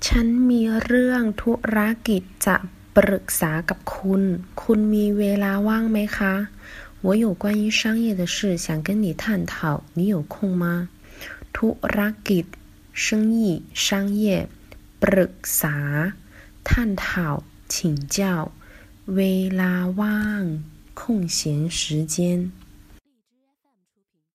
ฉันมีเรื่องธุรกิจจะปรึกษากับคุณคุณมีเวลาว่างไหมคะ我有关于商业的事想跟你探讨你有空吗ธุรกิจ生意商业ปรึกษา探讨请教เวลาว่าง空闲时间